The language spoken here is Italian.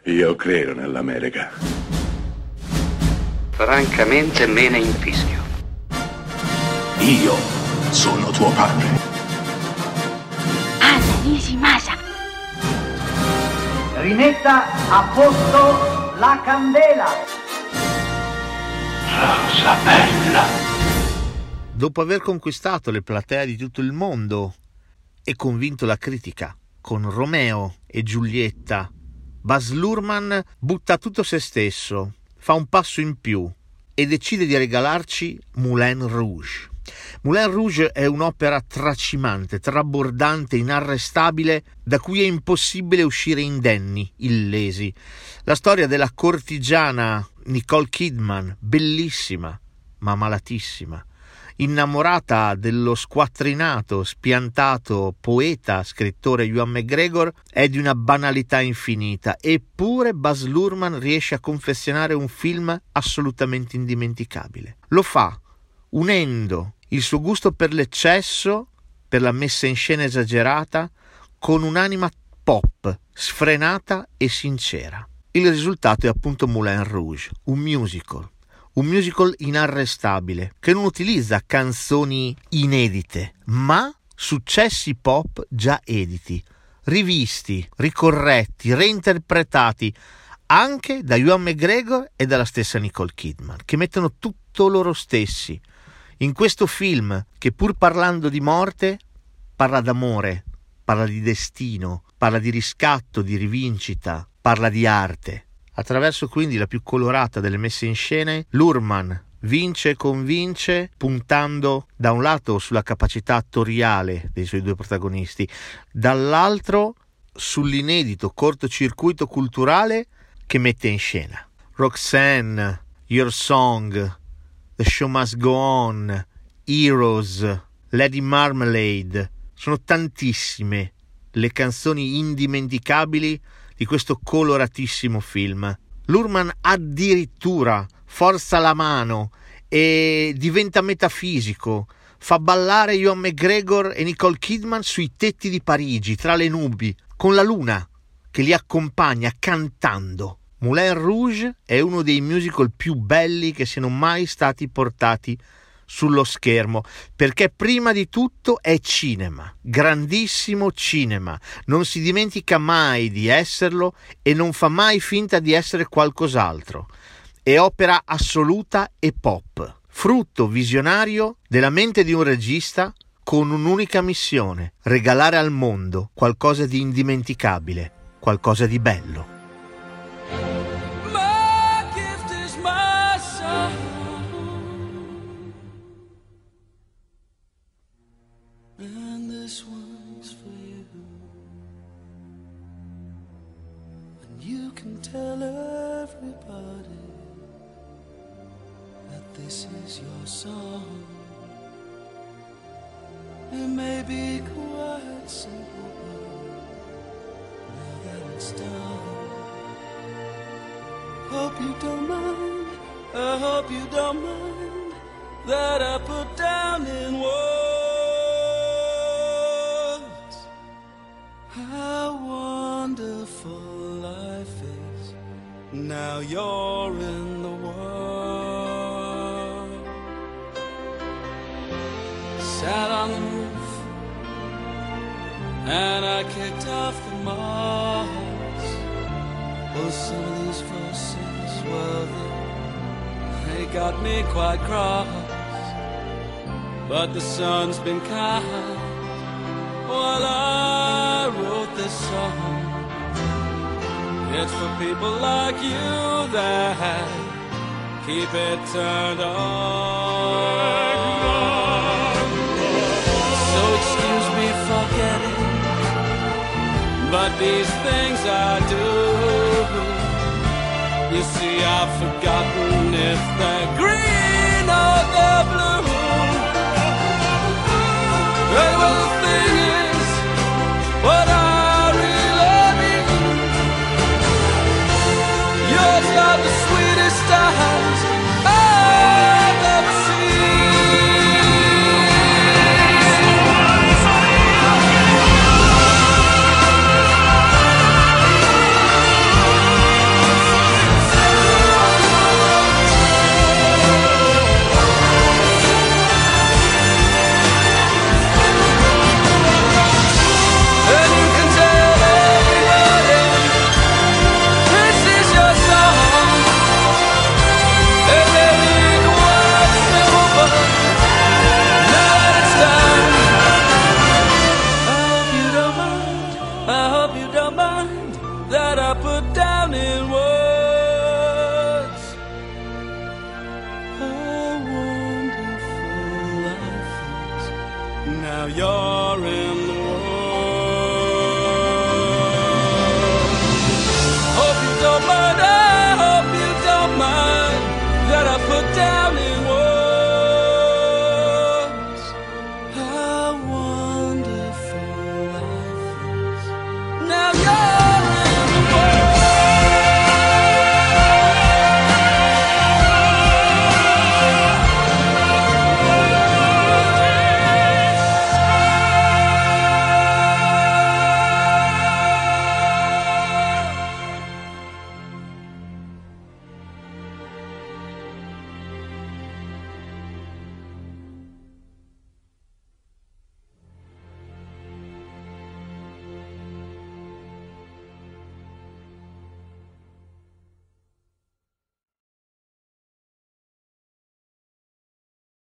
Io credo nell'America. Francamente me ne infischio. Io sono tuo padre. Anna Nishimasa. Rimetta a posto la candela. Rosa bella. Dopo aver conquistato le platee di tutto il mondo e convinto la critica con Romeo e Giulietta, Baz Luhrmann butta tutto se stesso, fa un passo in più e decide di regalarci Moulin Rouge. Moulin Rouge è un'opera tracimante, trabordante, inarrestabile, da cui è impossibile uscire indenni, illesi. La storia della cortigiana Nicole Kidman, bellissima, ma malatissima, innamorata dello squattrinato, spiantato poeta, scrittore Ewan McGregor, è di una banalità infinita, eppure Baz Luhrmann riesce a confezionare un film assolutamente indimenticabile. Lo fa unendo il suo gusto per l'eccesso, per la messa in scena esagerata, con un'anima pop, sfrenata e sincera. Il risultato è appunto Moulin Rouge, un musical inarrestabile, che non utilizza canzoni inedite, ma successi pop già editi, rivisti, ricorretti, reinterpretati anche da Ewan McGregor e dalla stessa Nicole Kidman, che mettono tutto loro stessi in questo film che, pur parlando di morte, parla d'amore, parla di destino, parla di riscatto, di rivincita, parla di arte. Attraverso quindi la più colorata delle messe in scena, Luhrmann vince e convince, puntando da un lato sulla capacità attoriale dei suoi due protagonisti, dall'altro sull'inedito cortocircuito culturale che mette in scena. Roxanne, Your Song, The Show Must Go On, Heroes, Lady Marmalade, sono tantissime le canzoni indimenticabili di questo coloratissimo film. Luhrmann addirittura forza la mano e diventa metafisico, fa ballare Ewan McGregor e Nicole Kidman sui tetti di Parigi, tra le nubi, con la luna che li accompagna cantando. Moulin Rouge è uno dei musical più belli che siano mai stati portati sullo schermo, perché prima di tutto è cinema, grandissimo cinema, non si dimentica mai di esserlo e non fa mai finta di essere qualcos'altro. È opera assoluta e pop, frutto visionario della mente di un regista con un'unica missione: regalare al mondo qualcosa di indimenticabile, qualcosa di bello. And this one's for you. And you can tell everybody that this is your song. It may be quite simple, but now that it's done, hope you don't mind, I hope you don't mind that I put down in words how wonderful life is. Now you're in the world. Sat on the roof and I kicked off the moss. Oh, some of these verses, well, they got me quite cross. But the sun's been kind while I wrote this song. It's for people like you that keep it turned on. So excuse me for getting, but these things I do, you see I've forgotten if they're green or they're blue. Hey, well, the thing is, what I really mean, yours are the sweetest eyes I've ever seen. put down in words. How wonderful life is. Now you're